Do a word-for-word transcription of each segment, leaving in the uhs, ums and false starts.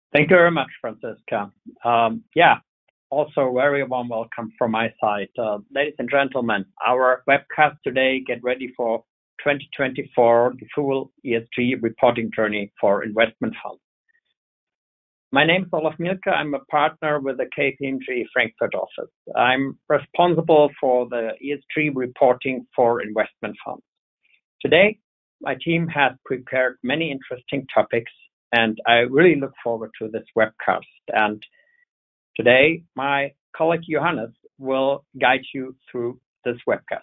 Thank you very much, Franziska. Um, yeah, also very warm welcome from my side. Uh, ladies and gentlemen, our webcast today, get ready for twenty twenty-four, the full E S G reporting journey for investment funds. My name is Olaf Mielke. I'm a partner with the K P M G Frankfurt office. I'm responsible for the E S G reporting for investment funds. Today, my team has prepared many interesting topics, and I really look forward to this webcast. And today, my colleague Johannes will guide you through this webcast.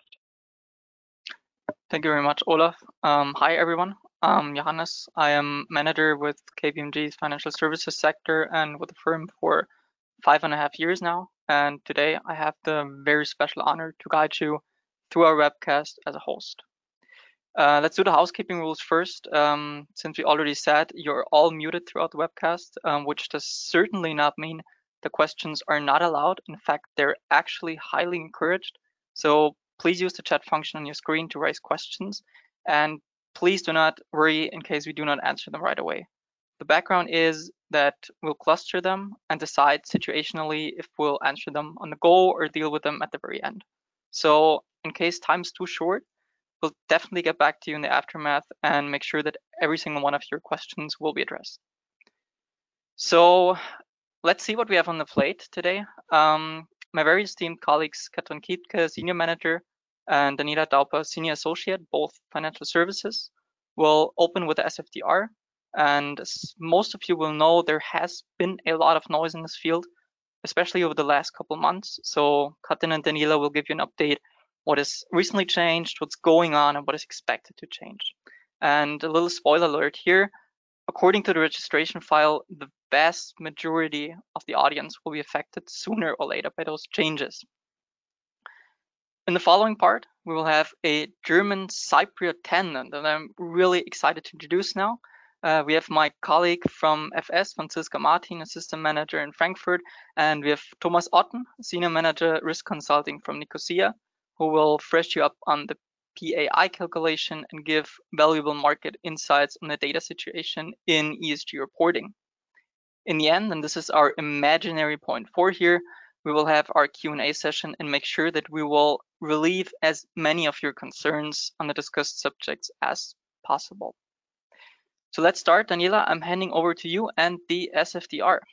Thank you very much, Olaf. Um, hi, everyone. I'm Johannes. I am manager with K P M G's financial services sector and with the firm for five and a half years now. And today I have the very special honor to guide you through our webcast as a host. Uh, let's do the housekeeping rules first. Um, since we already said you're all muted throughout the webcast, um, which does certainly not mean the questions are not allowed. In fact, they're actually highly encouraged. So please use the chat function on your screen to raise questions. And please do not worry in case we do not answer them right away. The background is that we'll cluster them and decide situationally if we'll answer them on the go or deal with them at the very end. So in case time's too short, we'll definitely get back to you in the aftermath and make sure that every single one of your questions will be addressed. So let's see what we have on the plate today. Um, my very esteemed colleagues, Katrin Kiepke, Senior Manager, and Daniela Dauper, Senior Associate, both financial services, will open with the S F D R. And as most of you will know, there has been a lot of noise in this field, especially over the last couple months. So Katrin and Daniela will give you an update what has recently changed, what's going on, and what is expected to change. And a little spoiler alert here, according to the registration file, the vast majority of the audience will be affected sooner or later by those changes. In the following part, we will have a German Cypriot tenant that I'm really excited to introduce now. Uh, we have my colleague from F S, Franziska Martin, Assistant Manager in Frankfurt, and we have Thomas Otten, Senior Manager Risk Consulting from Nicosia, who will fresh you up on the P A I calculation and give valuable market insights on the data situation in E S G reporting. In the end, and this is our imaginary point four here, we will have our Q and A session and make sure that we will relieve as many of your concerns on the discussed subjects as possible. So let's start. Daniela, I'm handing over to you and the S F D R.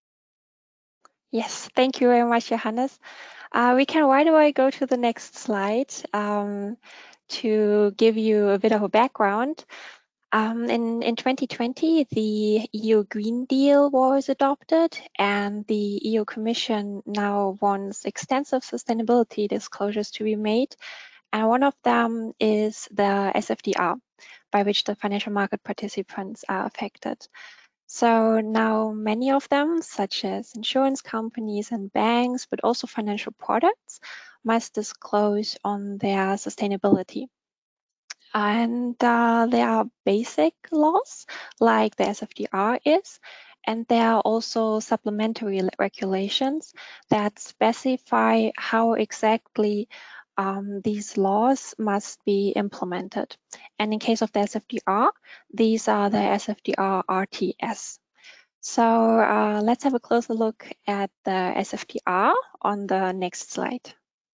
Yes, thank you very much, Johannes. Uh, we can right away go to the next slide um, to give you a bit of a background. Um, in, in twenty twenty, the E U Green Deal was adopted, and the E U Commission now wants extensive sustainability disclosures to be made. And one of them is the S F D R, by which the financial market participants are affected. So now many of them, such as insurance companies and banks, but also financial products, must disclose on their sustainability. And uh, there are basic laws like the S F D R is, and there are also supplementary regulations that specify how exactly um, these laws must be implemented. And in case of the S F D R, these are the S F D R R T S. So uh, let's have a closer look at the S F D R on the next slide.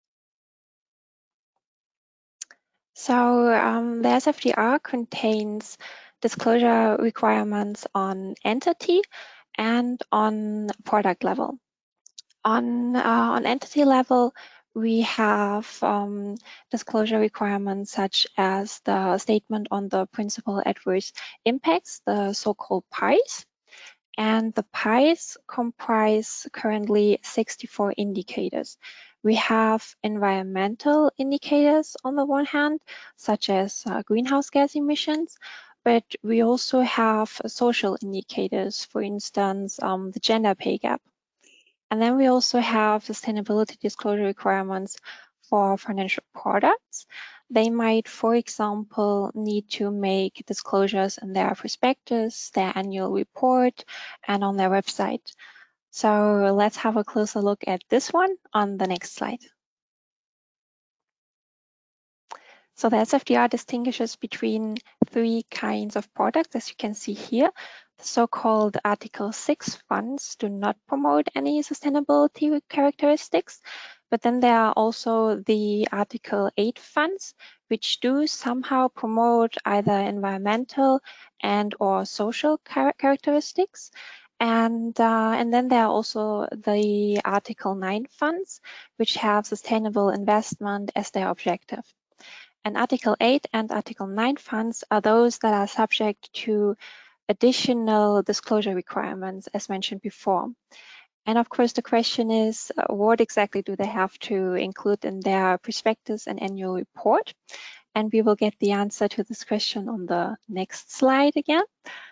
So um, the S F D R contains disclosure requirements on entity and on product level. On, uh, on entity level, we have um, disclosure requirements such as the statement on the principal adverse impacts, the so-called P I S. And the P I S comprise currently sixty-four indicators. We have environmental indicators on the one hand, such as uh, greenhouse gas emissions, but we also have social indicators, for instance, um, the gender pay gap. And then we also have sustainability disclosure requirements for financial products. They might, for example, need to make disclosures in their prospectus, their annual report, and on their website. So let's have a closer look at this one on the next slide. So the S F D R distinguishes between three kinds of products, as you can see here. The so-called Article six funds do not promote any sustainability characteristics, but then there are also the Article eight funds, which do somehow promote either environmental and or social char characteristics. And, uh, and then there are also the Article nine funds, which have sustainable investment as their objective. And Article eight and Article nine funds are those that are subject to additional disclosure requirements, as mentioned before. And of course, the question is, uh, what exactly do they have to include in their prospectus and annual report? And we will get the answer to this question on the next slide again.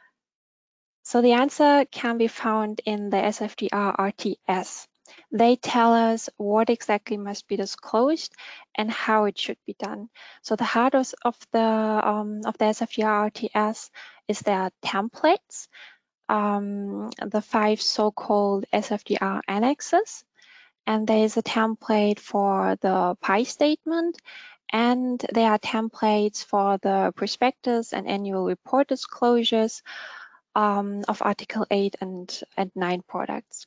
So the answer can be found in the S F D R R T S. They tell us what exactly must be disclosed and how it should be done. So the heart of the um, of the S F D R R T S is their templates, um, the five so-called S F D R annexes, and there is a template for the P I statement, and there are templates for the prospectus and annual report disclosures um, of Article eight and, and nine products.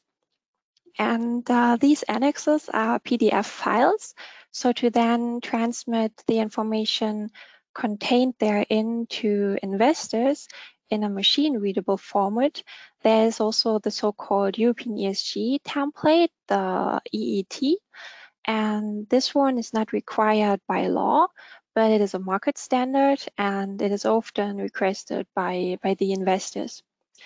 And uh, these annexes are P D F files. So to then transmit the information contained therein to investors in a machine readable format, there is also the so-called European E S G template, the E E T. And this one is not required by law, but it is a market standard and it is often requested by, by the investors.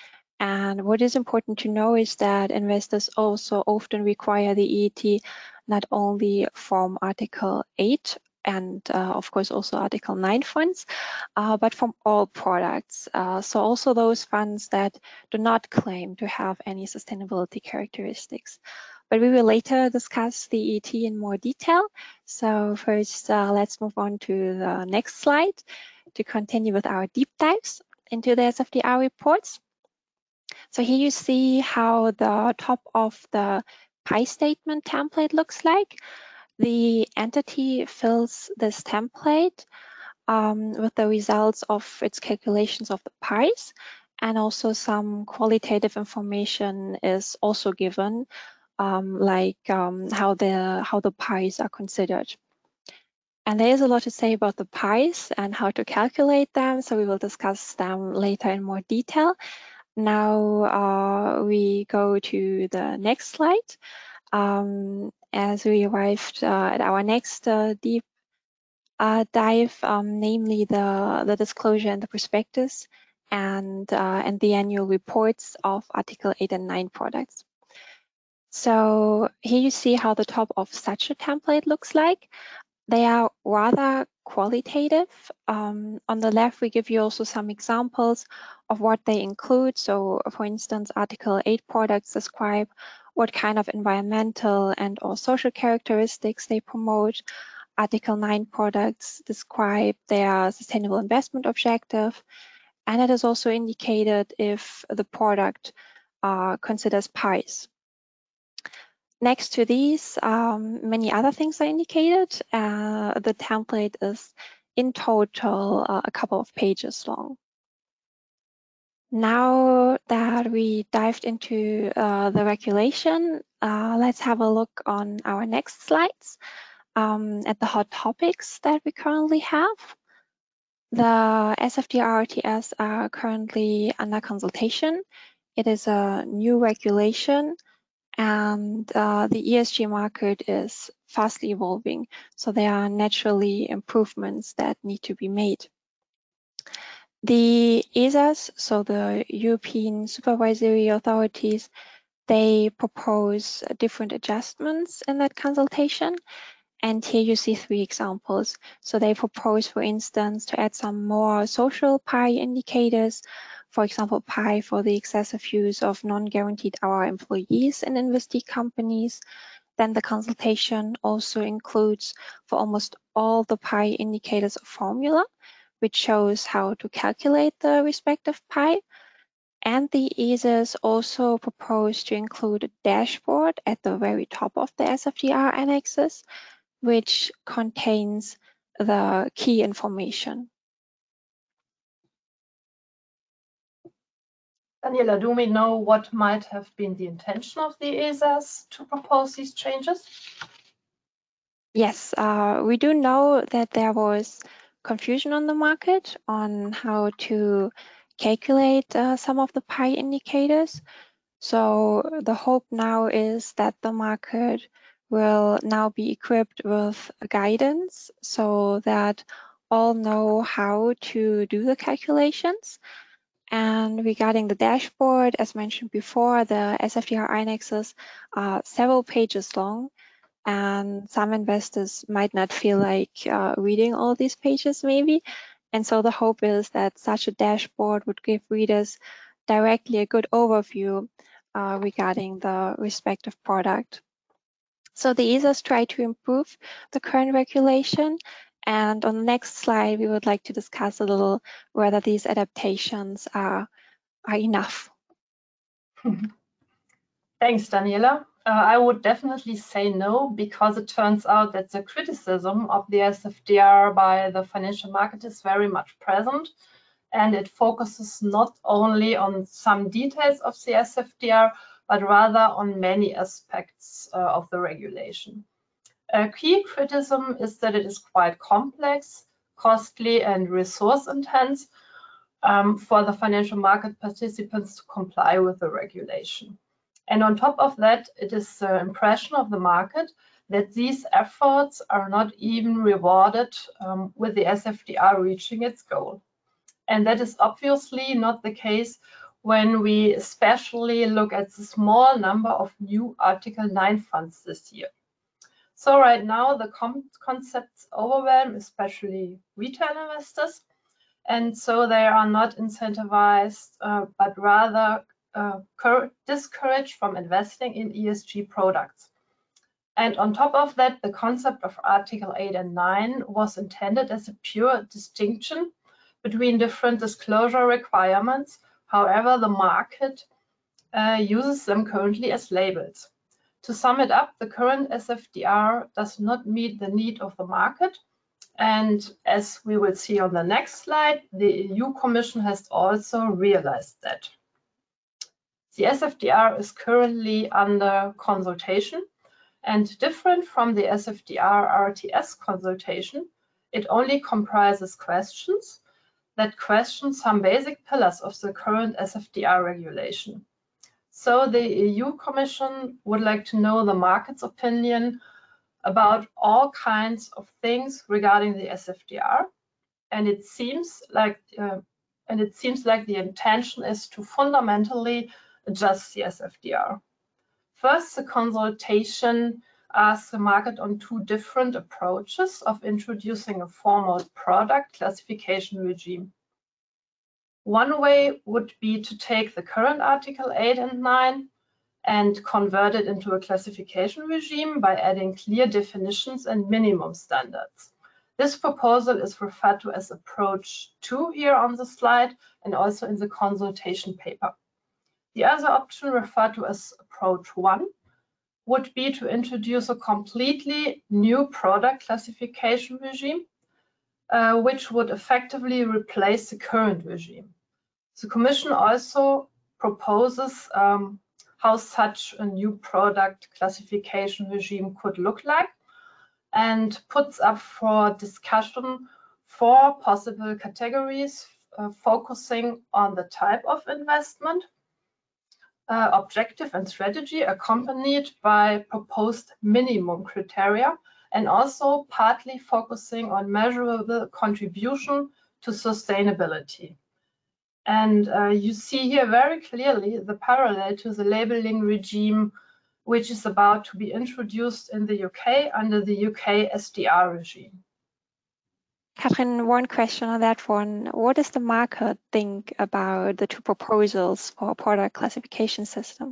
And what is important to know is that investors also often require the E E T not only from Article eight and uh, of course also Article nine funds, uh, but from all products. Uh, so also those funds that do not claim to have any sustainability characteristics. But we will later discuss the E E T in more detail. So first, uh, let's move on to the next slide to continue with our deep dives into the S F D R reports. So here you see how the top of the P I statement template looks like. The entity fills this template um, with the results of its calculations of the P Is, and also some qualitative information is also given, um, like um, how the how the P Is are considered. And there is a lot to say about the P Is and how to calculate them, so we will discuss them later in more detail. Now uh, we go to the next slide um, as we arrived uh, at our next uh, deep uh, dive, um, namely the, the disclosure and the prospectus and, uh, and the annual reports of Article eight and nine products. So here you see how the top of such a template looks like. They are rather qualitative. Um, on the left, we give you also some examples of what they include. So for instance, Article eight products describe what kind of environmental and or social characteristics they promote. Article nine products describe their sustainable investment objective. And it is also indicated if the product uh, considers P Is. Next to these, um, many other things are indicated. Uh, the template is in total uh, a couple of pages long. Now that we dived into uh, the regulation, uh, let's have a look on our next slides um, at the hot topics that we currently have. The S F D R R T S are currently under consultation. It is a new regulation, and uh, the E S G market is fastly evolving, so there are naturally improvements that need to be made. The E S As, so the European supervisory authorities, they propose different adjustments in that consultation. And here you see three examples. So they propose, for instance, to add some more social P I indicators, for example, P I for the excessive use of non-guaranteed hour employees in investee companies. Then the consultation also includes for almost all the P I indicators a formula, which shows how to calculate the respective P I. And the E S As also propose to include a dashboard at the very top of the S F D R annexes, which contains the key information. Daniela, do we know what might have been the intention of the E S A S to propose these changes? Yes, uh, we do know that there was confusion on the market on how to calculate uh, some of the P I indicators. So the hope now is that the market will now be equipped with guidance so that all know how to do the calculations. And regarding the dashboard, as mentioned before, the S F D R indexes are several pages long, and some investors might not feel like uh, reading all these pages maybe. And so the hope is that such a dashboard would give readers directly a good overview uh, regarding the respective product. So the E S A S try to improve the current regulation. And on the next slide, we would like to discuss a little whether these adaptations are, are enough. Thanks, Daniela. Uh, I would definitely say no, because it turns out that the criticism of the S F D R by the financial market is very much present, and it focuses not only on some details of the S F D R, but rather on many aspects uh, of the regulation. A key criticism is that it is quite complex, costly, and resource intense um, for the financial market participants to comply with the regulation. And on top of that, it is the impression of the market that these efforts are not even rewarded um, with the S F D R reaching its goal. And that is obviously not the case when we especially look at the small number of new Article nine funds this year. So right now, the concepts overwhelm, especially retail investors, and so they are not incentivized, uh, but rather uh, discouraged from investing in E S G products. And on top of that, the concept of Article eight and nine was intended as a pure distinction between different disclosure requirements. However, the market uh, uses them currently as labels. To sum it up, the current S F D R does not meet the need of the market. And as we will see on the next slide, the E U Commission has also realized that. The S F D R is currently under consultation, and different from the S F D R R T S consultation, it only comprises questions that question some basic pillars of the current S F D R regulation. So the E U Commission would like to know the market's opinion about all kinds of things regarding the S F D R, and it seems like uh, and it seems like the intention is to fundamentally adjust the S F D R. First, the consultation asks the market on two different approaches of introducing a formal product classification regime. One way would be to take the current Article eight and nine and convert it into a classification regime by adding clear definitions and minimum standards. This proposal is referred to as approach two here on the slide and also in the consultation paper. The other option, referred to as approach one, would be to introduce a completely new product classification regime, uh, which would effectively replace the current regime. The Commission also proposes um, how such a new product classification regime could look like, and puts up for discussion four possible categories, uh, focusing on the type of investment, uh, objective and strategy, accompanied by proposed minimum criteria, and also partly focusing on measurable contribution to sustainability. And uh, you see here very clearly the parallel to the labeling regime, which is about to be introduced in the U K under the U K S D R regime. Katrin, one question on that one. What does the market think about the two proposals for a product classification system?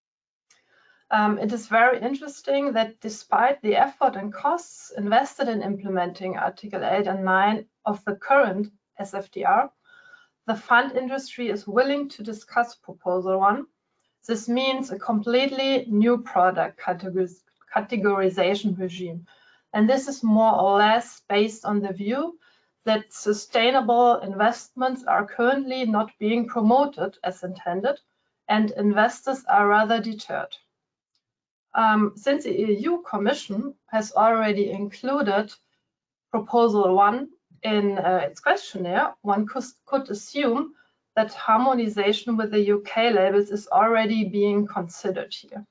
Um, it is very interesting that despite the effort and costs invested in implementing Article eight and nine of the current S F D R, the fund industry is willing to discuss Proposal one. This means a completely new product categorization regime. And this is more or less based on the view that sustainable investments are currently not being promoted as intended, and investors are rather deterred. Um, since the E U Commission has already included Proposal one in uh, its questionnaire, one could, could assume that harmonization with the U K labels is already being considered here.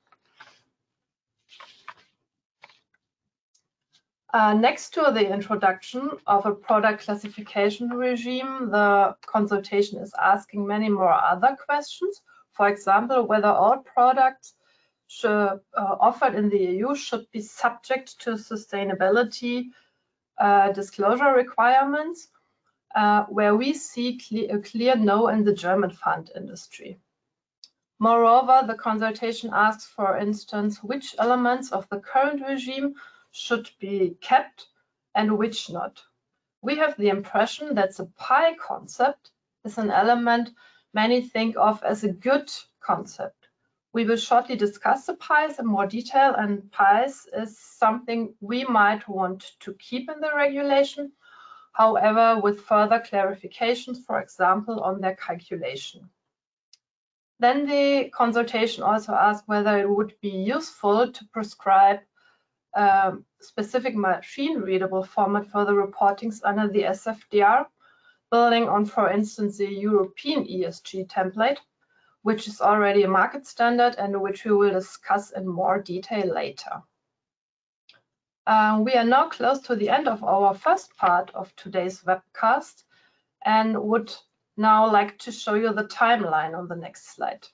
Uh, next to the introduction of a product classification regime, the consultation is asking many more other questions. For example, whether all products should, uh, offered in the E U should be subject to sustainability uh, disclosure requirements, uh, where we see cle a clear no in the German fund industry. Moreover, the consultation asks, for instance, which elements of the current regime should be kept and which not. We have the impression that the P I concept is an element many think of as a good concept. We will shortly discuss the P Is in more detail, and P Is is something we might want to keep in the regulation, however, with further clarifications, for example, on their calculation. Then the consultation also asked whether it would be useful to prescribe a specific machine-readable format for the reportings under the S F D R, building on, for instance, the European E S G template, which is already a market standard and which we will discuss in more detail later. Uh, we are now close to the end of our first part of today's webcast and would now like to show you the timeline on the next slide.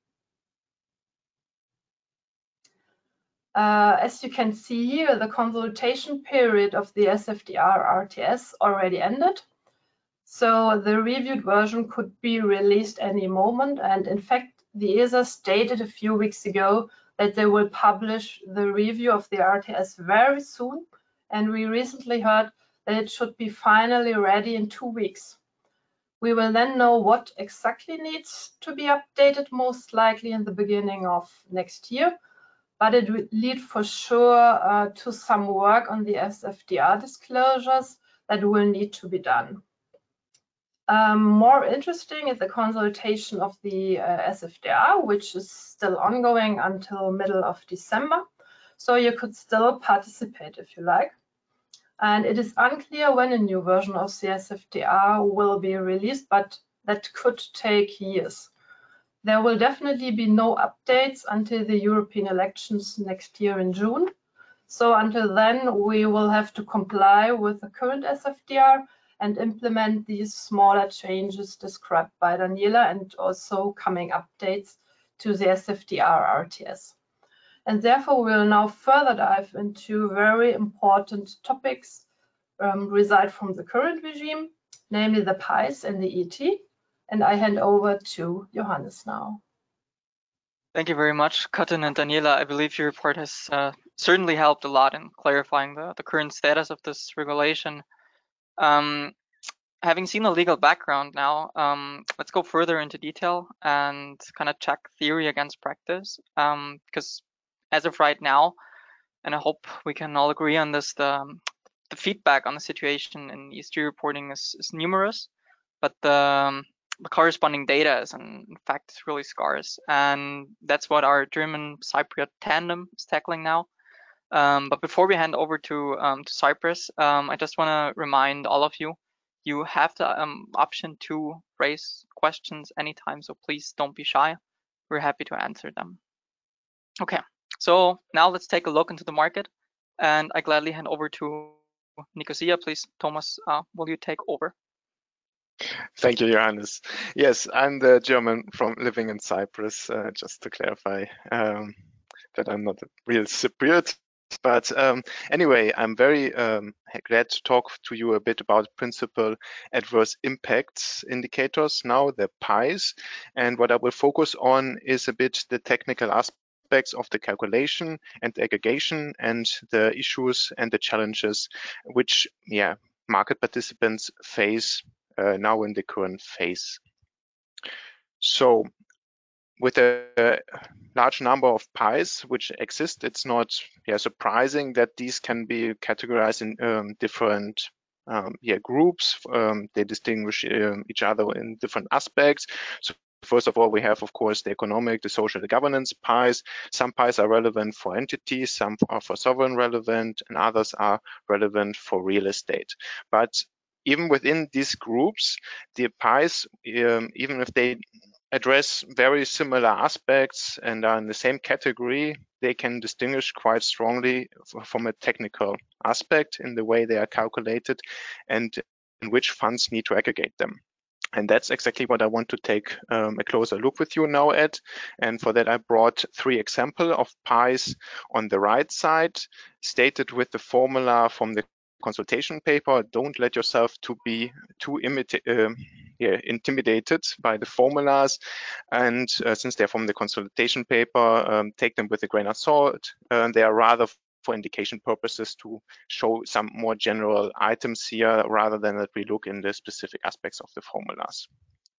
Uh, as you can see here, the consultation period of the S F D R R T S already ended. So the reviewed version could be released any moment. And in fact, the E S A stated a few weeks ago that they will publish the review of the R T S very soon. And we recently heard that it should be finally ready in two weeks. We will then know what exactly needs to be updated, most likely in the beginning of next year. But it will lead for sure uh, to some work on the S F D R disclosures that will need to be done. Um, more interesting is the consultation of the uh, S F D R, which is still ongoing until middle of December. So you could still participate if you like. And it is unclear when a new version of the S F D R will be released, but that could take years. There will definitely be no updates until the European elections next year in June. So until then, we will have to comply with the current S F D R and implement these smaller changes described by Daniela and also coming updates to the S F D R R T S. And therefore, we will now further dive into very important topics um, result from the current regime, namely the P Is and the E T. And I hand over to Johannes now. Thank you very much, Katrin and Daniela. I believe your report has uh, certainly helped a lot in clarifying the, the current status of this regulation. Um, having seen the legal background now, um, let's go further into detail and kind of check theory against practice. Um, because as of right now, and I hope we can all agree on this, the, the feedback on the situation in E S G reporting is, is numerous, but the um, the corresponding data is in fact really scarce, and that's what our German Cypriot tandem is tackling now. Um, but before we hand over to um, to Cyprus, um, I just want to remind all of you, you have the um, option to raise questions anytime, so please don't be shy. We're happy to answer them. Okay, so now let's take a look into the market, and I gladly hand over to Nicosia. Please, Thomas, uh, will you take over? Thank you, Johannes. Yes, I'm the German from living in Cyprus, uh, just to clarify um, that I'm not a real Cypriot. But um, anyway, I'm very um, glad to talk to you a bit about principal adverse impacts indicators now, the P Is. And what I will focus on is a bit the technical aspects of the calculation and the aggregation and the issues and the challenges which yeah, market participants face Uh, now in the current phase. So with a, a large number of pies which exist, it's not yeah, surprising that these can be categorized in um, different um, yeah, groups. Um, they distinguish um, each other in different aspects. So first of all, we have, of course, the economic, the social, the governance pies. Some pies are relevant for entities, some are for sovereign relevant, and others are relevant for real estate. But even within these groups, the pies, um, even if they address very similar aspects and are in the same category, they can distinguish quite strongly from a technical aspect in the way they are calculated and in which funds need to aggregate them. And that's exactly what I want to take um, a closer look with you now at. And for that, I brought three examples of pies on the right side, stated with the formula from the consultation paper. Don't let yourself to be too uh, yeah, intimidated by the formulas. And uh, since they're from the consultation paper, um, take them with a grain of salt. Uh, they are rather for indication purposes to show some more general items here rather than that we look in the specific aspects of the formulas.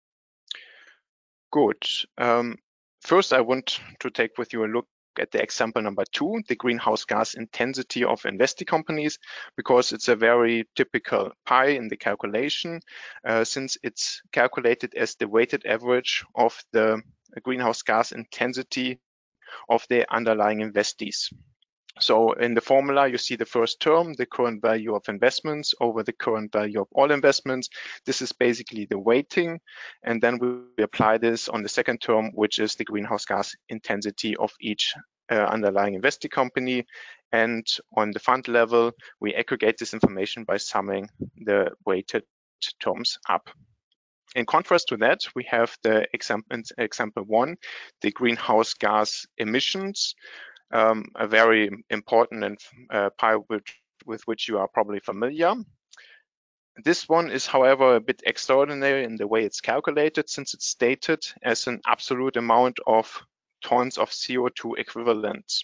Good. Um, first, I want to take with you a look at the example number two, the greenhouse gas intensity of investee companies, because it's a very typical pie in the calculation, uh, since it's calculated as the weighted average of the greenhouse gas intensity of the underlying investees. So in the formula, you see the first term, the current value of investments over the current value of all investments. This is basically the weighting. And then we apply this on the second term, which is the greenhouse gas intensity of each uh, underlying investee company. And on the fund level, we aggregate this information by summing the weighted terms up. In contrast to that, we have the example, example one, the greenhouse gas emissions. Um, a very important and uh, pie with, with which you are probably familiar. This one is, however, a bit extraordinary in the way it's calculated, since it's stated as an absolute amount of tons of C O two equivalents.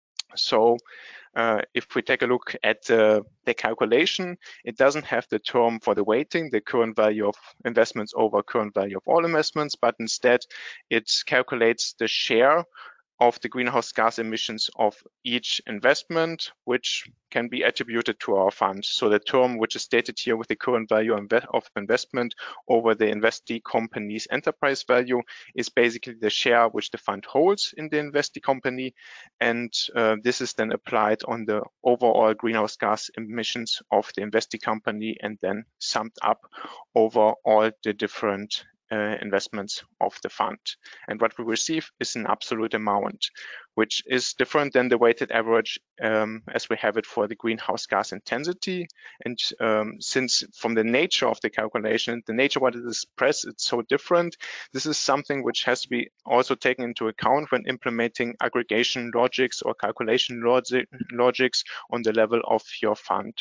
So uh, if we take a look at uh, the calculation, it doesn't have the term for the weighting, the current value of investments over current value of all investments, but instead it calculates the share of the greenhouse gas emissions of each investment, which can be attributed to our fund. So the term which is stated here with the current value of investment over the investee company's enterprise value is basically the share which the fund holds in the investee company. And uh, this is then applied on the overall greenhouse gas emissions of the investee company and then summed up over all the different Uh, investments of the fund. And what we receive is an absolute amount, which is different than the weighted average um, as we have it for the greenhouse gas intensity. And um, since from the nature of the calculation, the nature what it is expressed, it's so different. This is something which has to be also taken into account when implementing aggregation logics or calculation logic, logics on the level of your fund.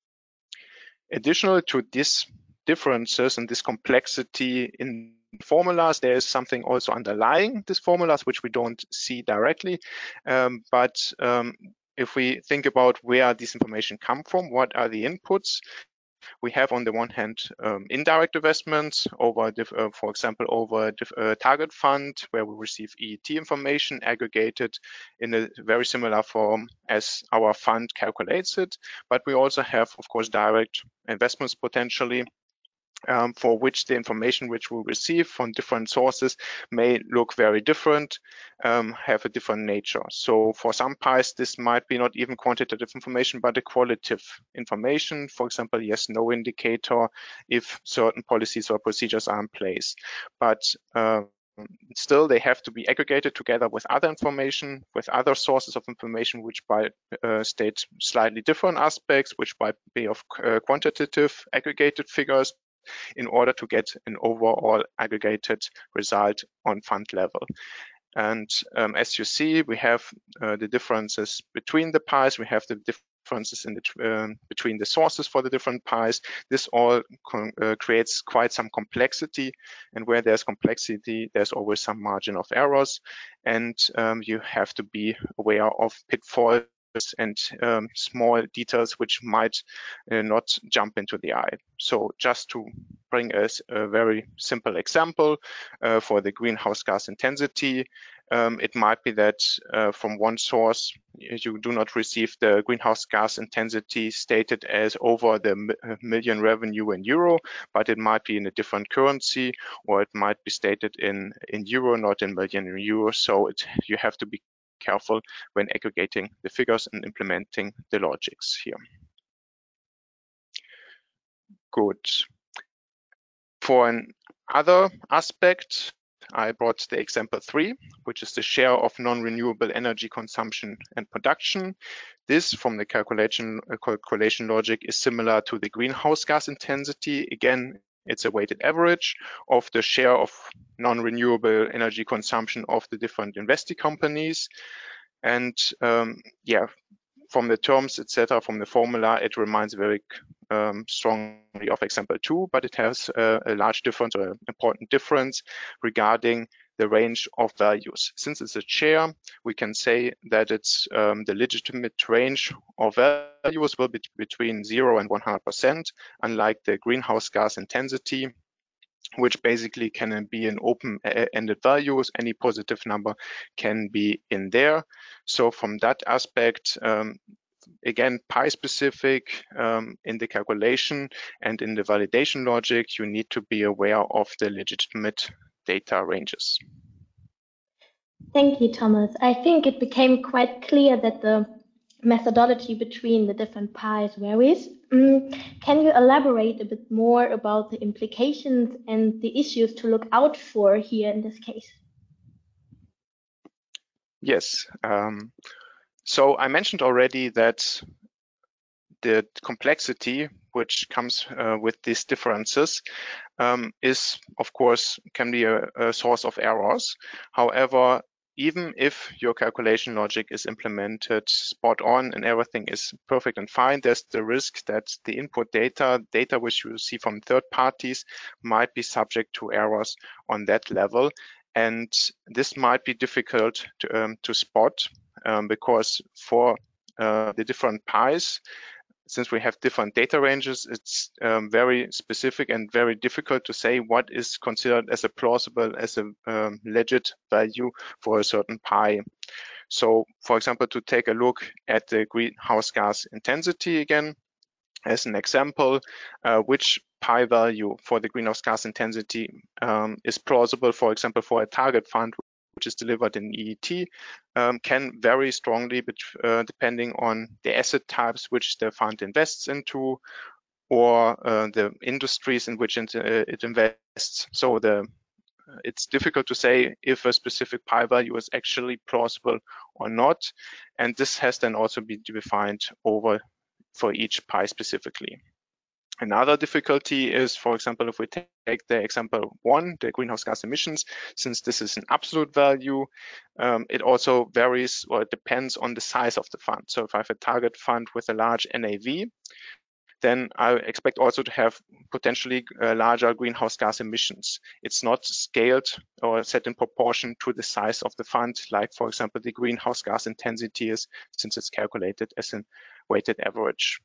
Additional to this differences and this complexity in formulas, there is something also underlying these formulas which we don't see directly. Um, but um, if we think about where this information come from, what are the inputs? We have on the one hand um, indirect investments over, uh, for example, over a uh, target fund where we receive E E T information aggregated in a very similar form as our fund calculates it. But we also have, of course, direct investments potentially, Um, for which the information which we receive from different sources may look very different, um, have a different nature. So for some pies, this might be not even quantitative information, but a qualitative information. For example, yes, no indicator if certain policies or procedures are in place. But uh, still, they have to be aggregated together with other information, with other sources of information, which by uh, state slightly different aspects, which might be of uh, quantitative aggregated figures, in order to get an overall aggregated result on fund level. And um, as you see, we have uh, the differences between the pies. We have the differences in the, uh, between the sources for the different pies. This all uh, creates quite some complexity. And where there's complexity, there's always some margin of errors. And um, you have to be aware of pitfalls and um, small details which might uh, not jump into the eye. So just to bring us a very simple example uh, for the greenhouse gas intensity, um, it might be that uh, from one source you do not receive the greenhouse gas intensity stated as over the million revenue in euro, but it might be in a different currency, or it might be stated in in euro, not in million euro. So it, you have to be careful when aggregating the figures and implementing the logics here. Good. For another aspect, I brought the example three, which is the share of non-renewable energy consumption and production. This, from the calculation, uh, calculation logic, is similar to the greenhouse gas intensity. Again, it's a weighted average of the share of non-renewable energy consumption of the different investee companies. And um, yeah, from the terms, et cetera, from the formula, it reminds very um, strongly of example two, but it has a, a large difference, or an important difference regarding the range of values. Since it's a share, we can say that it's um, the legitimate range of values will be between zero and one hundred percent, unlike the greenhouse gas intensity, which basically can be an open-ended values. Any positive number can be in there. So from that aspect, um, again, pi specific um, in the calculation and in the validation logic, you need to be aware of the legitimate data ranges. Thank you, Thomas. I think it became quite clear that the methodology between the different pies varies. Mm, can you elaborate a bit more about the implications and the issues to look out for here in this case? Yes. Um, so I mentioned already that the complexity which comes uh, with these differences um, is, of course, can be a, a source of errors. However, even if your calculation logic is implemented spot on and everything is perfect and fine, there's the risk that the input data, data which you see from third parties, might be subject to errors on that level. And this might be difficult to, um, to spot um, because for uh, the different pies, since we have different data ranges, it's um, very specific and very difficult to say what is considered as a plausible, as a um, legit value for a certain pi. So, for example, to take a look at the greenhouse gas intensity again, as an example, uh, which pi value for the greenhouse gas intensity um, is plausible, for example, for a target fund, which is delivered in E E T, um, can vary strongly uh, depending on the asset types which the fund invests into, or uh, the industries in which it, uh, it invests. So the it's difficult to say if a specific pi value is actually plausible or not, and this has then also been defined over for each pi specifically. Another difficulty is, for example, if we take the example one, the greenhouse gas emissions, since this is an absolute value, um, it also varies, or it depends on the size of the fund. So if I have a target fund with a large N A V, then I expect also to have potentially uh, larger greenhouse gas emissions. It's not scaled or set in proportion to the size of the fund, like, for example, the greenhouse gas intensity is, since it's calculated as a weighted average.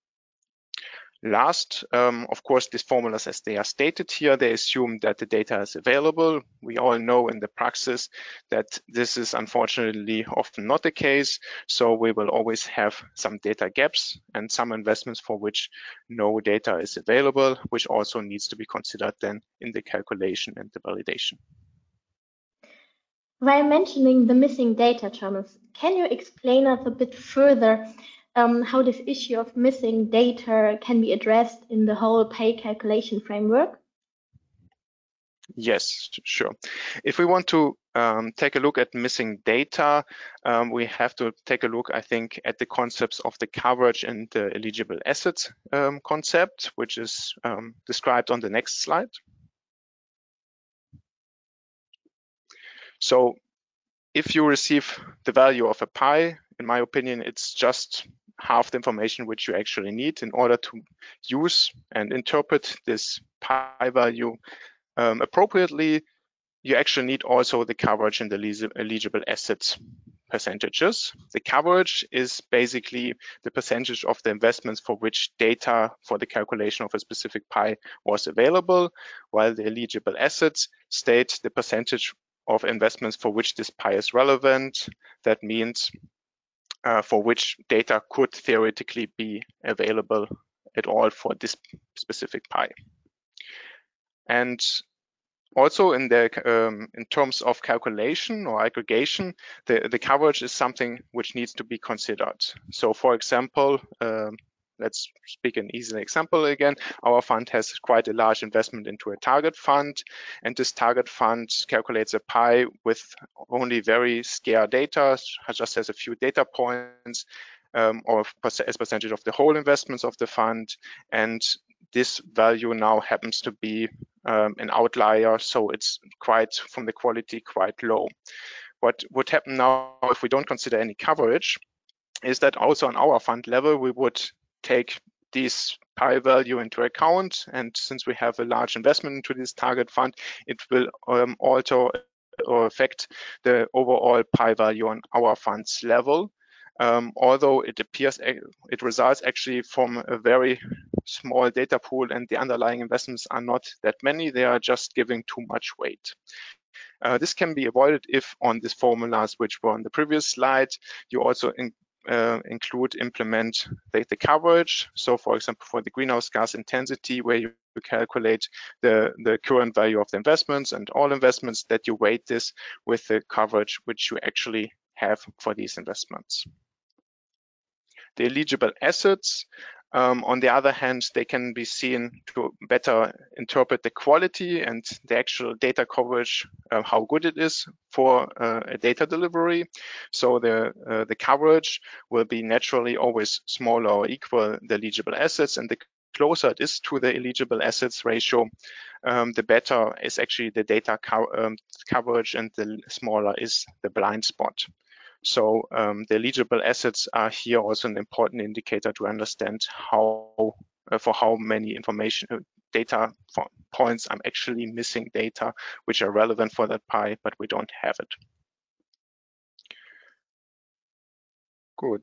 Last, um, of course, these formulas, as they are stated here, they assume that the data is available. We all know in the praxis that this is unfortunately often not the case. So we will always have some data gaps and some investments for which no data is available, which also needs to be considered then in the calculation and the validation. While mentioning the missing data, Thomas, can you explain us a bit further Um, how this issue of missing data can be addressed in the whole pay calculation framework? Yes, sure. If we want to um, take a look at missing data, um, we have to take a look, I think, at the concepts of the coverage and the eligible assets um, concept, which is um, described on the next slide. So if you receive the value of a pi, in my opinion, it's just half the information which you actually need in order to use and interpret this pi value um, appropriately. You actually need also the coverage and the eligible assets percentages. The coverage is basically the percentage of the investments for which data for the calculation of a specific pie was available, while the eligible assets state the percentage of investments for which this pie is relevant. That means uh, for which data could theoretically be available at all for this specific pie. And also in the um, in terms of calculation or aggregation, the, the coverage is something which needs to be considered. So for example, um, let's speak an easy example again. Our fund has quite a large investment into a target fund, and this target fund calculates a pie with only very scarce data, just has a few data points, um, or as percentage of the whole investments of the fund. And this value now happens to be um, an outlier, so it's quite, from the quality, quite low. What would happen now if we don't consider any coverage is that also on our fund level, we would take this pie value into account. And since we have a large investment into this target fund, it will um, alter or affect the overall pie value on our fund's level. Um, although it appears, it results actually from a very small data pool, and the underlying investments are not that many, they are just giving too much weight. Uh, this can be avoided if on these formulas which were on the previous slide, you also in, uh, include, implement the, the coverage. So for example, for the greenhouse gas intensity, where you calculate the, the current value of the investments and all investments, that you weight this with the coverage which you actually have for these investments. The eligible assets, um, on the other hand, they can be seen to better interpret the quality and the actual data coverage, uh, how good it is for uh, a data delivery. So the, uh, the coverage will be naturally always smaller or equal the eligible assets, and the closer it is to the eligible assets ratio, um, the better is actually the data co um, coverage, and the smaller is the blind spot. So um, the eligible assets are here also an important indicator to understand how, uh, for how many information uh, data points I'm actually missing data which are relevant for that pie, but we don't have it. Good.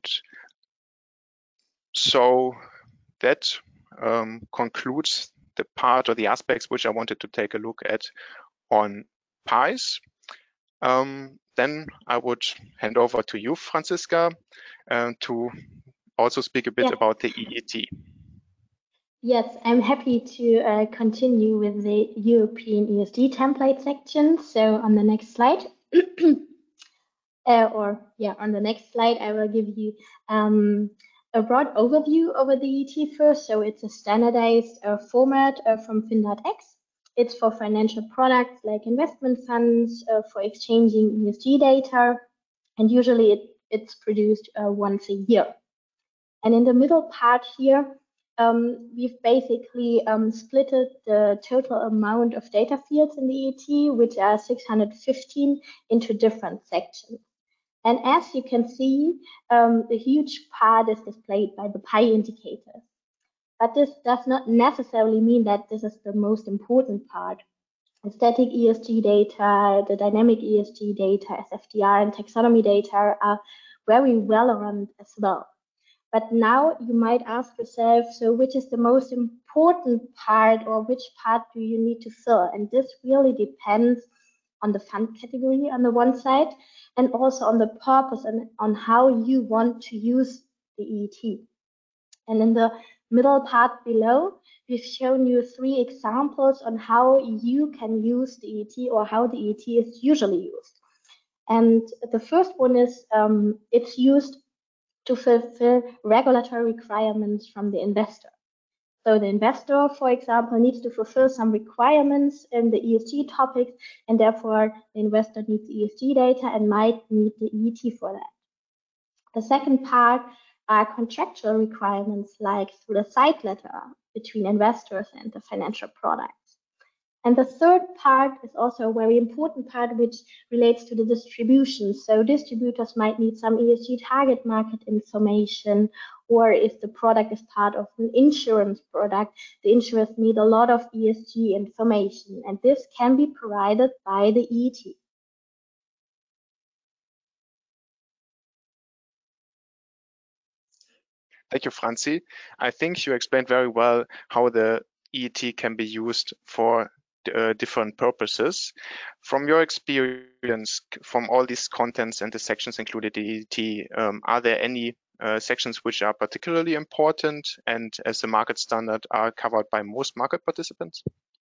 So that um, concludes the part or the aspects which I wanted to take a look at on pies. Um, then I would hand over to you, Franziska, uh, to also speak a bit yeah. about the E E T. Yes, I'm happy to uh, continue with the European E S G template section. So on the next slide, uh, or yeah, on the next slide, I will give you um, a broad overview over the E E T first. So it's a standardized uh, format uh, from FinDatX. It's for financial products like investment funds, uh, for exchanging E S G data, and usually it, it's produced uh, once a year. And in the middle part here, um, we've basically um, splitted the total amount of data fields in the E E T, which are six hundred fifteen, into different sections. And as you can see, um, a huge part is displayed by the pie indicators. But this does not necessarily mean that this is the most important part. The static E S G data, the dynamic E S G data, S F D R, and taxonomy data are very relevant as well. But now you might ask yourself, so which is the most important part, or which part do you need to fill? And this really depends on the fund category on the one side, and also on the purpose and on how you want to use the E E T. And in the middle part below, we've shown you three examples on how you can use the E E T, or how the E E T is usually used. And the first one is um, it's used to fulfill regulatory requirements from the investor. So the investor, for example, needs to fulfill some requirements in the E S G topics, and therefore the investor needs E S G data and might need the E E T for that. The second part are contractual requirements, like through the side letter between investors and the financial products. And the third part is also a very important part, which relates to the distribution. So distributors might need some E S G target market information, or if the product is part of an insurance product, the insurers need a lot of E S G information, and this can be provided by the E E T. Thank you, Franzi. I think you explained very well how the E E T can be used for uh, different purposes. From your experience, from all these contents and the sections included in E E T, um, are there any uh, sections which are particularly important and as a market standard are covered by most market participants?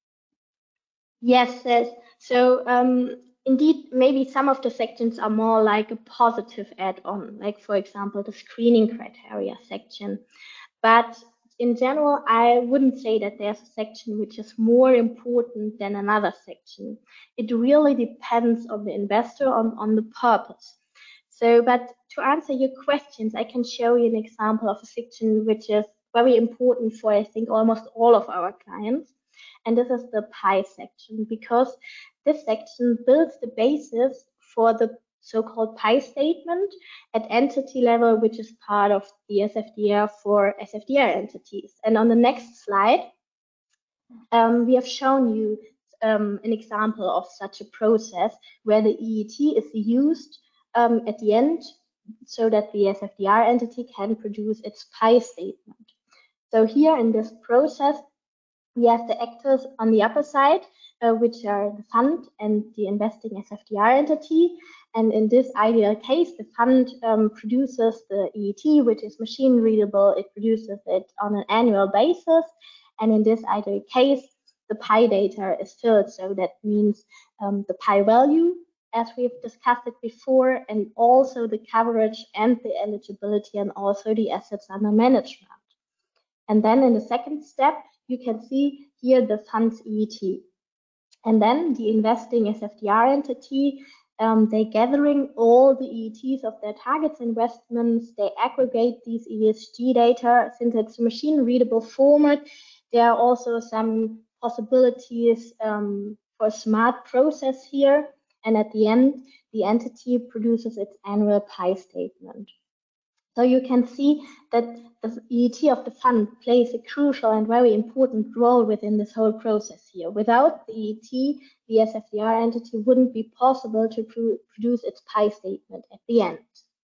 Yes, yes. So um, indeed, maybe some of the sections are more like a positive add-on, like for example, the screening criteria section. But in general, I wouldn't say that there's a section which is more important than another section. It really depends on the investor, on, on the purpose. So, but to answer your questions, I can show you an example of a section which is very important for, I think, almost all of our clients. And this is the P I section, because this section builds the basis for the so-called P I statement at entity level, which is part of the S F D R for S F D R entities. And on the next slide, um, we have shown you um, an example of such a process where the E E T is used um, at the end so that the S F D R entity can produce its P I statement. So here in this process, we have the actors on the upper side, uh, which are the fund and the investing S F D R entity. And in this ideal case, the fund um, produces the E E T, which is machine readable. It produces it on an annual basis. And in this ideal case, the P I data is filled. So that means um, the P I value, as we've discussed it before, and also the coverage and the eligibility and also the assets under management. And then in the second step, you can see here the fund's E E T. And then the investing S F D R entity, um, they're gathering all the E E Ts of their targets investments. They aggregate these E S G data. Since it's a machine readable format, there are also some possibilities um, for a smart process here. And at the end, the entity produces its annual P I statement. So you can see that the E E T of the fund plays a crucial and very important role within this whole process here. Without the E E T, the S F D R entity wouldn't be possible to pro produce its P I statement at the end.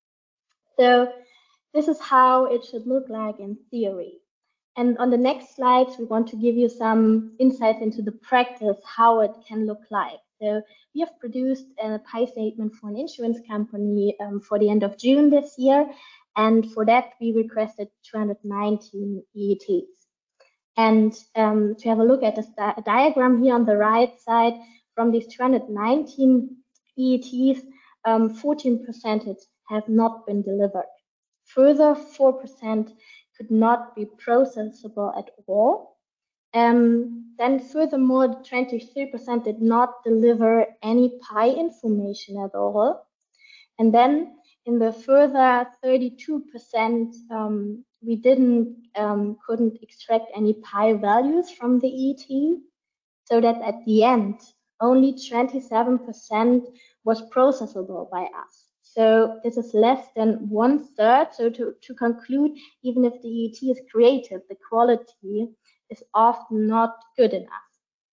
So this is how it should look like in theory. And on the next slides, we want to give you some insights into the practice, how it can look like. So we have produced a P I statement for an insurance company um, for the end of June this year. And for that, we requested two hundred nineteen E E Ts. And um, to have a look at the di diagram here on the right side, from these two hundred nineteen E E Ts, um, fourteen percent have not been delivered. Further, four percent could not be processable at all. Um, then furthermore, twenty-three percent did not deliver any P I information at all. And then in the further thirty-two percent, um, we didn't um, couldn't extract any P I values from the E E T, so that at the end only twenty-seven percent was processable by us. So this is less than one third. So to, to conclude, even if the E E T is creative, the quality is often not good enough.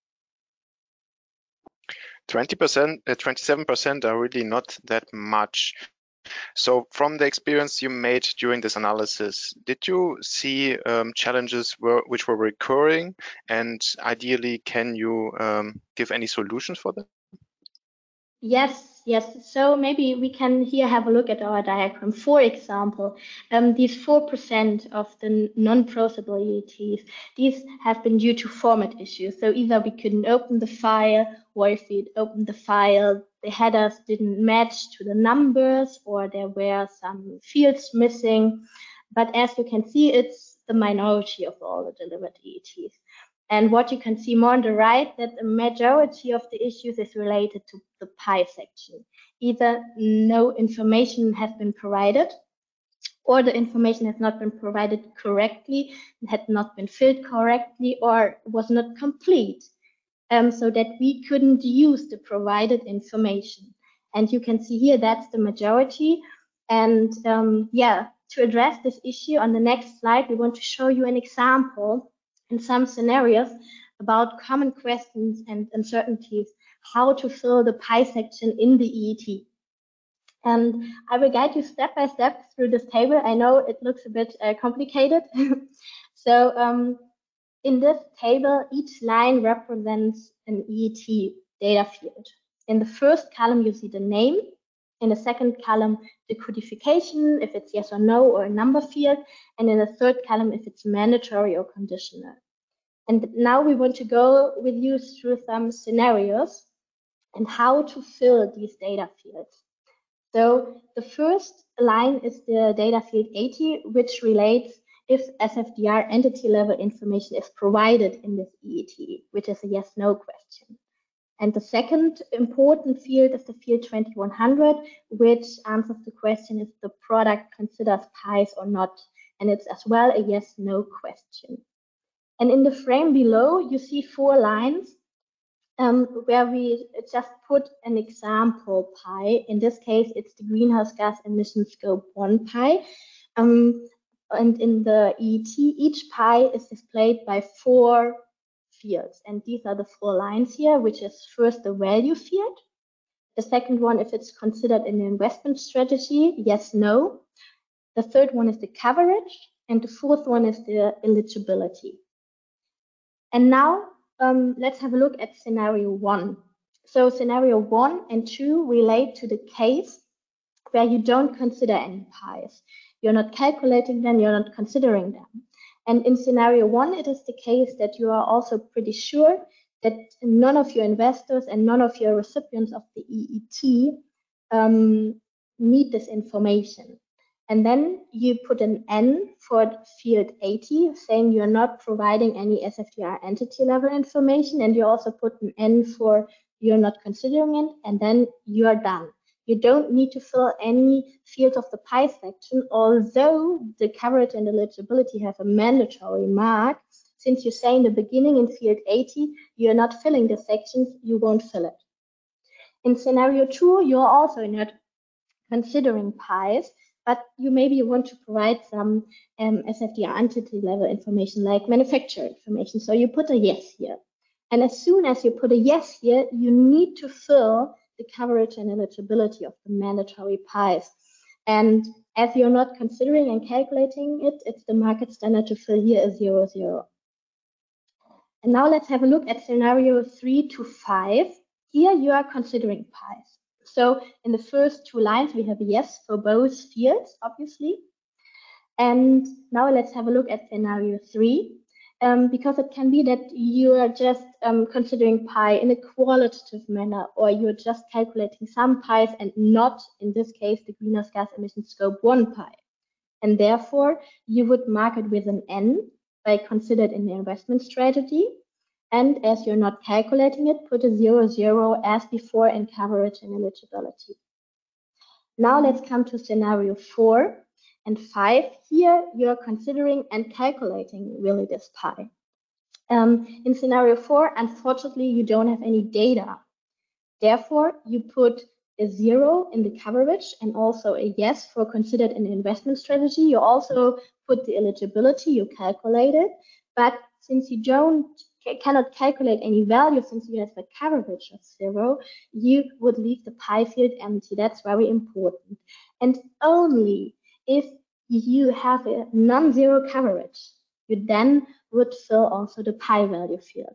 twenty percent, uh, twenty-seven percent are really not that much. So from the experience you made during this analysis, did you see um, challenges were, which were recurring, and ideally, can you um, give any solutions for them? Yes, yes. So maybe we can here have a look at our diagram. For example, um, these four percent of the non-processable E E Ts, these have been due to format issues. So either we couldn't open the file, or if we'd opened the file, the headers didn't match to the numbers, or there were some fields missing. But as you can see, it's the minority of all the delivered E E Ts. And what you can see more on the right, that the majority of the issues is related to the P I section. Either no information has been provided, or the information has not been provided correctly, had not been filled correctly, or was not complete, um, so that we couldn't use the provided information. And you can see here that's the majority. And um, yeah, to address this issue, on the next slide, we want to show you an example in some scenarios about common questions and uncertainties, how to fill the P I section in the E E T. And I will guide you step by step through this table. I know it looks a bit uh, complicated. So um, in this table, each line represents an E E T data field. In the first column, you see the name. In the second column, the codification, if it's yes or no, or a number field. And in the third column, if it's mandatory or conditional. And now we want to go with you through some scenarios and how to fill these data fields. So the first line is the data field eighty, which relates if S F D R entity level information is provided in this E E T, which is a yes-no question. And the second important field is the field twenty-one hundred, which answers the question if the product considers pies or not. And it's as well a yes-no question. And in the frame below, you see four lines um, where we just put an example pie. In this case, it's the greenhouse gas emission scope one pie. Um, and in the E E T, each pie is displayed by four fields. And these are the four lines here, which is first the value field. The second one, if it's considered an investment strategy, yes, no. The third one is the coverage. And the fourth one is the eligibility. And now um, let's have a look at scenario one. So scenario one and two relate to the case where you don't consider any pies. You're not calculating them, you're not considering them. And in scenario one, it is the case that you are also pretty sure that none of your investors and none of your recipients of the E E T um, need this information. And then you put an N for field eighty, saying you're not providing any S F D R entity level information. And you also put an N for you're not considering it, and then you're done. You don't need to fill any field of the pie section, although the coverage and eligibility have a mandatory mark. Since you say in the beginning in field eighty, you're not filling the sections, you won't fill it. In scenario two, you're also not considering pies, but you maybe want to provide some um, S F D R entity level information like manufacturer information. So you put a yes here. And as soon as you put a yes here, you need to fill the coverage and eligibility of the mandatory pies. And as you're not considering and calculating it, it's the market standard to fill here a zero, zero. And now let's have a look at scenario three to five. Here you are considering pies. So in the first two lines, we have a yes for both fields, obviously. And now let's have a look at scenario three, um, because it can be that you are just um, considering pi in a qualitative manner, or you're just calculating some pies and not, in this case, the greenhouse gas emission scope one pi. And therefore, you would mark it with an N by considered in the investment strategy. And as you're not calculating it, put a zero, zero as before in coverage and eligibility. Now let's come to scenario four and five. Here you're considering and calculating really this pi. Um, in scenario four, unfortunately, you don't have any data. Therefore, you put a zero in the coverage and also a yes for considered an investment strategy. You also put the eligibility, you calculate it, but since you don't cannot calculate any value, since you have a coverage of zero, you would leave the pi field empty. That's very important. And only if you have a non-zero coverage, you then would fill also the pi value field.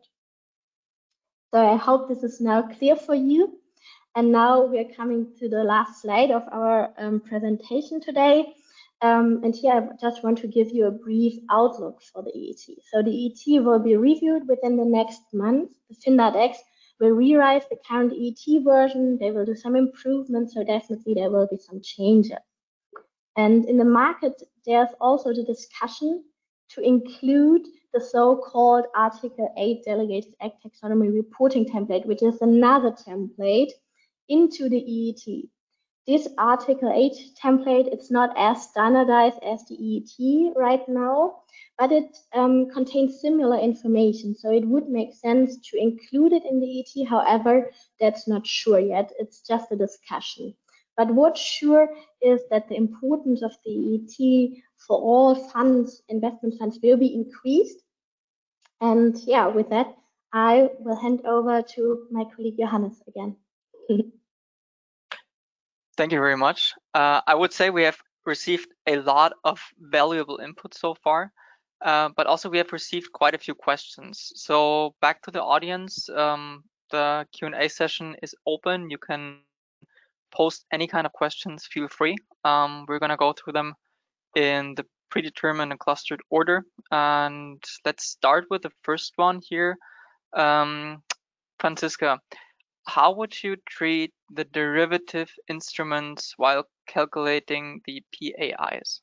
So I hope this is now clear for you. And now we're coming to the last slide of our um, presentation today. Um, and here I just want to give you a brief outlook for the E E T. So the E E T will be reviewed within the next month. The FinDatX will rewrite the current E E T version. They will do some improvements, so definitely there will be some changes. And in the market, there's also the discussion to include the so-called Article eight Delegated Act Taxonomy Reporting Template, which is another template, into the E E T. This Article eight template, it's not as standardized as the E E T right now, but it um, contains similar information. So it would make sense to include it in the E E T. However, that's not sure yet. It's just a discussion. But what's sure is that the importance of the E E T for all funds, investment funds, will be increased. And yeah, with that, I will hand over to my colleague Johannes again. Thank you very much. Uh, I would say we have received a lot of valuable input so far, uh, but also we have received quite a few questions. So back to the audience, um, the Q and A session is open. You can post any kind of questions, feel free. Um, we're gonna go through them in the predetermined and clustered order. And let's start with the first one here. Um, Franziska, how would you treat the derivative instruments while calculating the P A Is?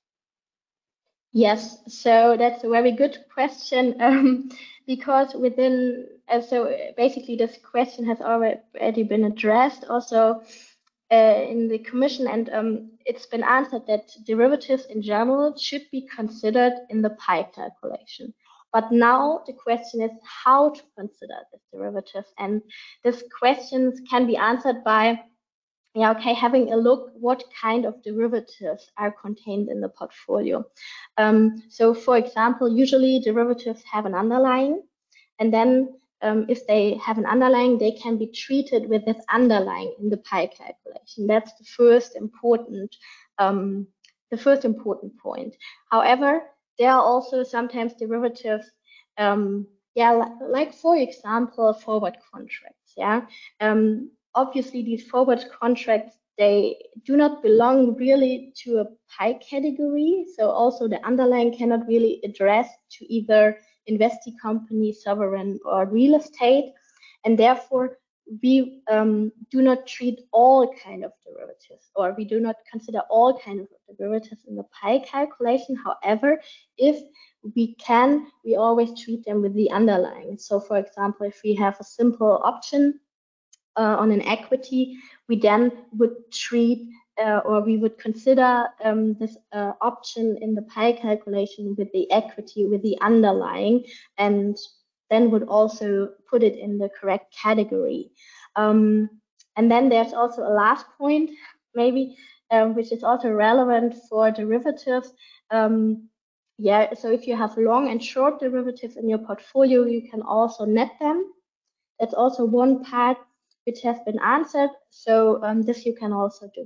Yes, so that's a very good question, um, because within, uh, so basically this question has already been addressed also uh, in the commission, and um, it's been answered that derivatives in general should be considered in the pi calculation. But now the question is how to consider this derivative, and these questions can be answered by yeah, okay, having a look what kind of derivatives are contained in the portfolio. Um, so for example, usually derivatives have an underlying, and then um, if they have an underlying, they can be treated with this underlying in the pi calculation. That's the first important, um, the first important point. However, there are also sometimes derivatives, um, yeah, like, like for example, forward contracts, yeah. Um, obviously these forward contracts, they do not belong really to a pi category. So also the underlying cannot really address to either investee company, sovereign, or real estate. And therefore we um, do not treat all kind of derivatives, or we do not consider all kind of derivatives in the pi calculation. However, if we can, we always treat them with the underlying. So for example, if we have a simple option Uh, on an equity, we then would treat uh, or we would consider um, this uh, option in the pi calculation with the equity, with the underlying, and then would also put it in the correct category. Um, and then there's also a last point, maybe, um, which is also relevant for derivatives. Um, yeah, so if you have long and short derivatives in your portfolio, you can also net them. That's also one part which has been answered. So um, this you can also do.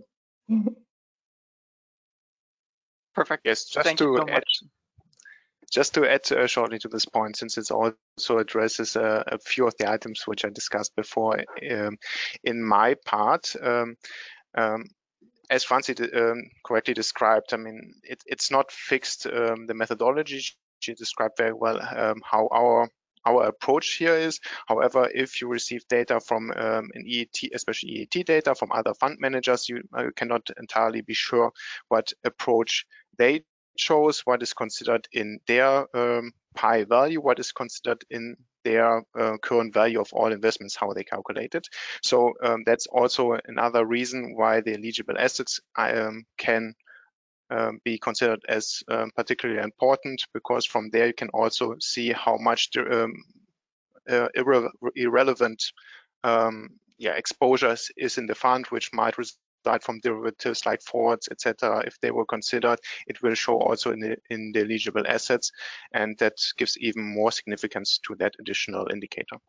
Perfect. Yes, just Thank to you so add, much. just to add uh, shortly to this point, since it also addresses uh, a few of the items which I discussed before. Um, in my part, um, um, as Franzi um, correctly described, I mean, it, it's not fixed, um, the methodology. She described very well um, how our our approach here is. However, if you receive data from um, an E A T, especially E A T data from other fund managers, you uh, cannot entirely be sure what approach they chose, what is considered in their um, pi value, what is considered in their uh, current value of all investments, how they calculate it. So um, that's also another reason why the eligible assets um, can um, be considered as um, particularly important, because from there you can also see how much um, uh, irre irrelevant um, yeah, exposures is in the fund, which might result from derivatives like forwards, et cetera. If they were considered, it will show also in the, in the eligible assets, and that gives even more significance to that additional indicator.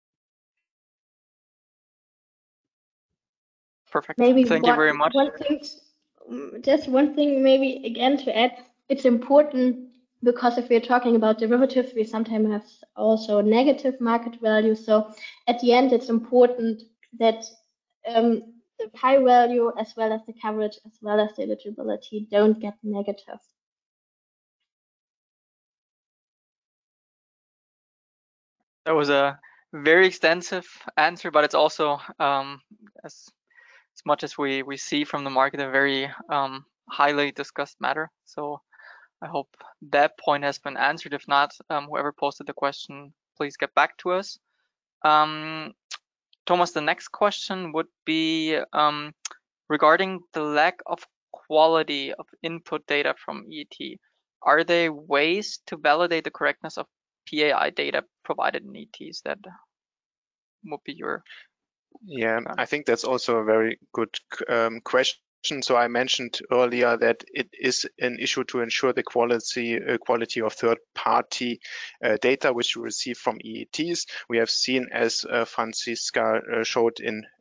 Perfect. Maybe Thank one, you very much. one thing, just one thing maybe again to add, it's important because if we're talking about derivatives, we sometimes have also negative market value. So at the end, it's important that um, the pi value as well as the coverage as well as the eligibility don't get negative. That was a very extensive answer, but it's also um, as as much as we we see from the market a very um, highly discussed matter. So I hope that point has been answered. If not, um, whoever posted the question, please get back to us. Um, Thomas, the next question would be um, regarding the lack of quality of input data from E A T. Are there ways to validate the correctness of P A I data provided in E A Ts? That would be your Yeah, um, I think that's also a very good um, question. So I mentioned earlier that it is an issue to ensure the quality uh, quality of third-party uh, data which you receive from E A Ts. We have seen, as uh, Franziska uh, showed in in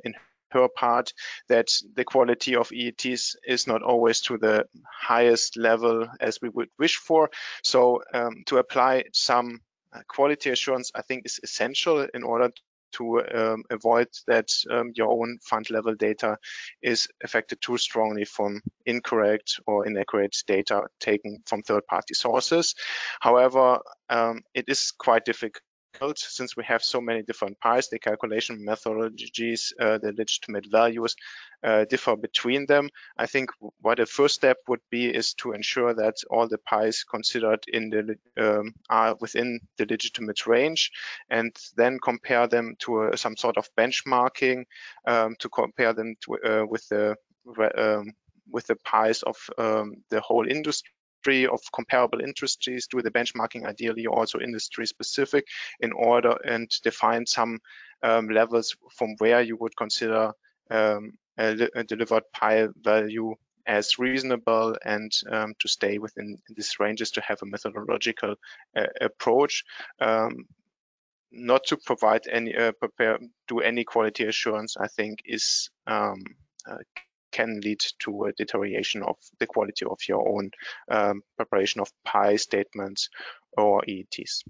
her part that the quality of E E Ts is not always to the highest level as we would wish for. So um, to apply some quality assurance, I think, is essential in order to um, avoid that um, your own fund level data is affected too strongly from incorrect or inaccurate data taken from third-party sources. However, um, it is quite difficult since we have so many different pies, the calculation methodologies, uh, the legitimate values uh, differ between them. I think what a first step would be is to ensure that all the pies considered in the um, are within the legitimate range, and then compare them to uh, some sort of benchmarking um, to compare them to, uh, with the um, with the pies of um, the whole industry, of comparable industries, do the benchmarking ideally also industry specific in order and define some um, levels from where you would consider um, a, a delivered pie value as reasonable, and um, to stay within these ranges to have a methodological uh, approach. Um, not to provide any uh, prepare do any quality assurance, I think, is um, uh, can lead to a deterioration of the quality of your own um, preparation of pie statements or E E Ts.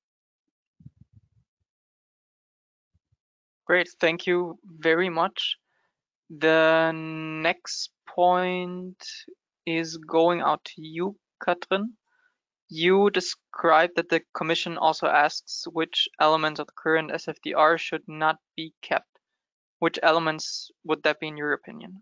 Great, thank you very much. The next point is going out to you, Katrin. You described that the Commission also asks which elements of the current S F D R should not be kept. Which elements would that be in your opinion?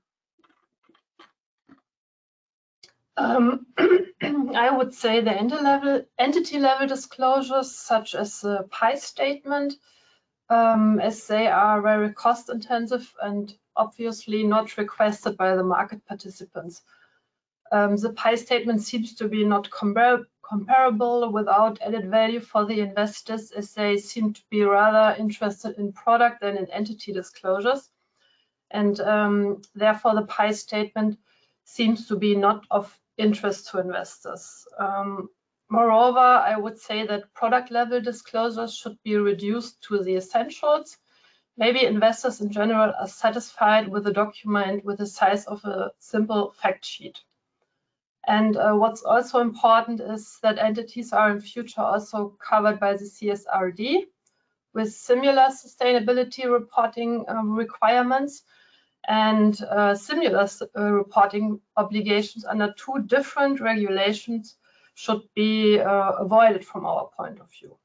Um, I would say the level, entity level disclosures, such as the P I statement, um, as they are very cost intensive and obviously not requested by the market participants. Um, the P I statement seems to be not compar comparable without added value for the investors, as they seem to be rather interested in product than in entity disclosures. And um, therefore the P I statement seems to be not of interest to investors. Um, moreover, I would say that product level disclosures should be reduced to the essentials. Maybe investors in general are satisfied with a document with the size of a simple fact sheet. And uh, what's also important is that entities are in future also covered by the C S R D with similar sustainability reporting um, requirements and uh, similar uh, reporting obligations under two different regulations should be uh, avoided from our point of view.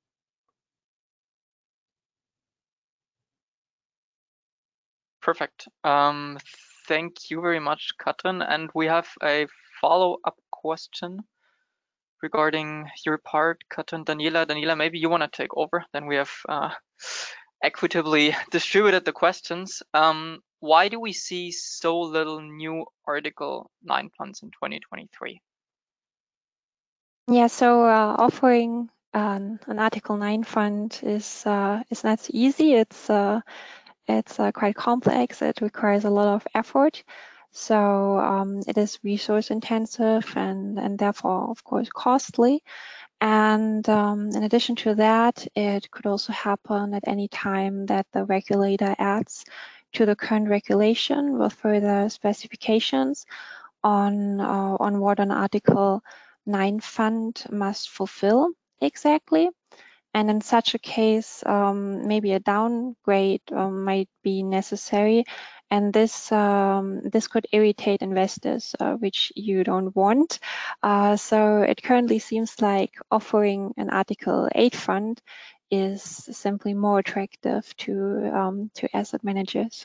Perfect. Um, thank you very much, Katrin. And we have a follow-up question regarding your part, Katrin. Daniela, Daniela, maybe you want to take over. Then we have uh, equitably distributed the questions. Um, why do we see so little new Article nine funds in twenty twenty-three? Yeah, so uh, offering um, an Article nine fund is uh, is not easy. It's uh, it's uh, quite complex. It requires a lot of effort. So um, it is resource intensive and, and therefore, of course, costly. And um, in addition to that, it could also happen at any time that the regulator adds to the current regulation with further specifications on, uh, on what an Article nine fund must fulfill exactly. And in such a case, um, maybe a downgrade um, might be necessary, and this um, this could irritate investors, uh, which you don't want. Uh, so it currently seems like offering an Article eight fund is simply more attractive to um, to asset managers.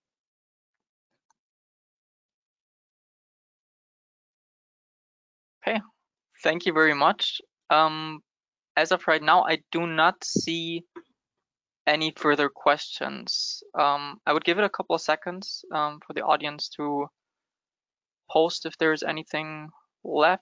Okay, thank you very much. Um, as of right now, I do not see any further questions. Um, I would give it a couple of seconds um, for the audience to post if there's anything left.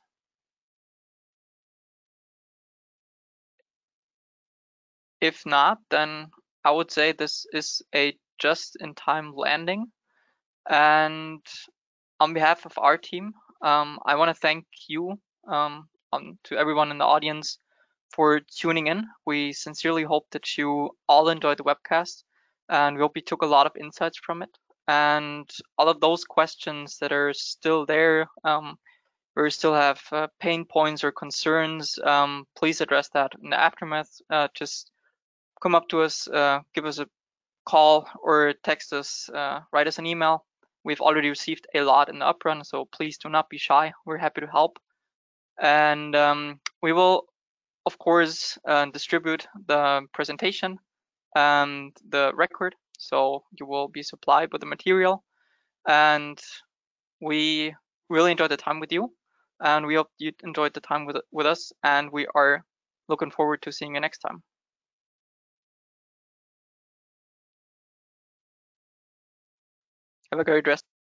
If not, then I would say this is a just-in-time landing. And on behalf of our team, um, I want to thank you um, um, to everyone in the audience for tuning in. We sincerely hope that you all enjoyed the webcast and we hope you took a lot of insights from it. And all of those questions that are still there, um, or you still have uh, pain points or concerns, um, please address that in the aftermath. Uh, just come up to us, uh, give us a call or text us, uh, write us an email. We've already received a lot in the uprun, so please do not be shy. We're happy to help. And um, we will, of course, uh, distribute the presentation and the record, so you will be supplied with the material. And we really enjoyed the time with you, and we hope you enjoyed the time with, with us, and we are looking forward to seeing you next time. Have a great rest.